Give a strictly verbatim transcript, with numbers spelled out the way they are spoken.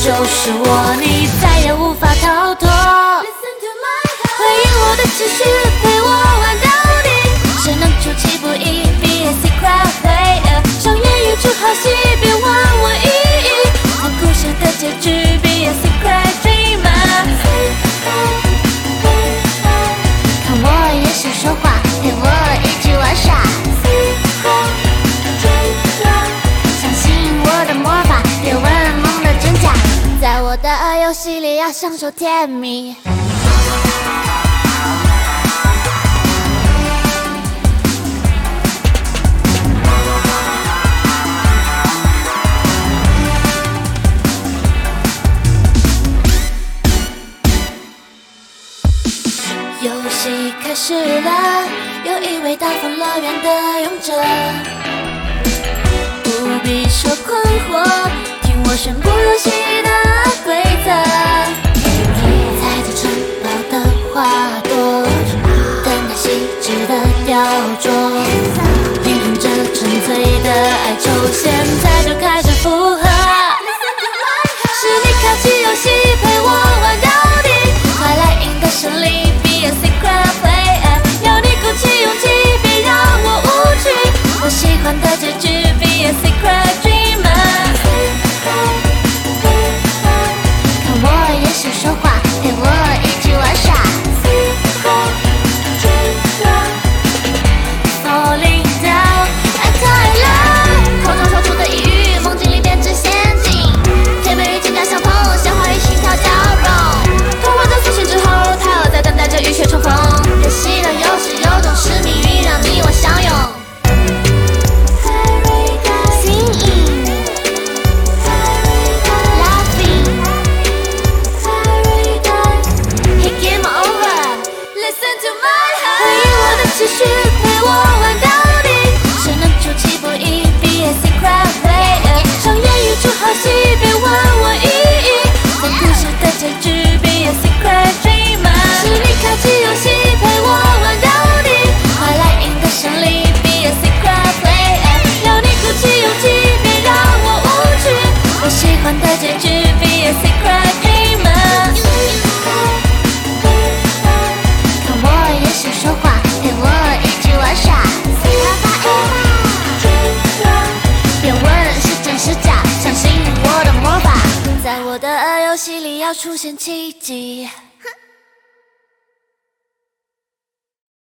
就是我，你再也无法逃脱。回应我的期许，陪我玩到底，谁能出其不意 ？Be a secret player， 上演一出好戏，别忘我意义。看故事的结局 ，Be a secret dreamer。看我也想说话，陪我一起玩耍。相信我的魔法，别问梦的真假，在我的游戏里要享受甜蜜。游戏开始了，有一位大风乐园的勇者，不必说困惑，听我宣布游戏的规则。踩着城堡的花朵，等待细致的雕琢，聆听着纯粹的哀愁，现在就开始附和。是你开启游戏，陪我玩到底，快来赢得胜利。Be a secret player， 要你鼓起勇气，别让我无趣。我喜欢的结局 ，Be a secret dreamer。看我也想说话，陪我一起玩耍。Falling down， 爱太冷，口中说出的一语，梦境里变成陷阱。甜美与情感相通，鲜花与心跳交融。通过这苏醒之后，太阳在等待着浴血重逢。游戏的游戏有种是命运，让你我相拥。Singing， laughing， Hey game over， listen to my heart。回应我的期许，陪我玩到底，谁能出其不意 ？Be a secret player， 上演一出好戏，别问我意义。看故事的结局 ，Be a secret dreamer。是你开启游戏，陪我玩到底，快来赢得胜利 ，Be a secret player。要你鼓起勇气，别让我无趣。我喜欢的结局 ，Be a secret dreamer。看我也想说话，陪我一起玩耍。别问是真是假，相信我的魔法，在我的游戏里要出现奇迹。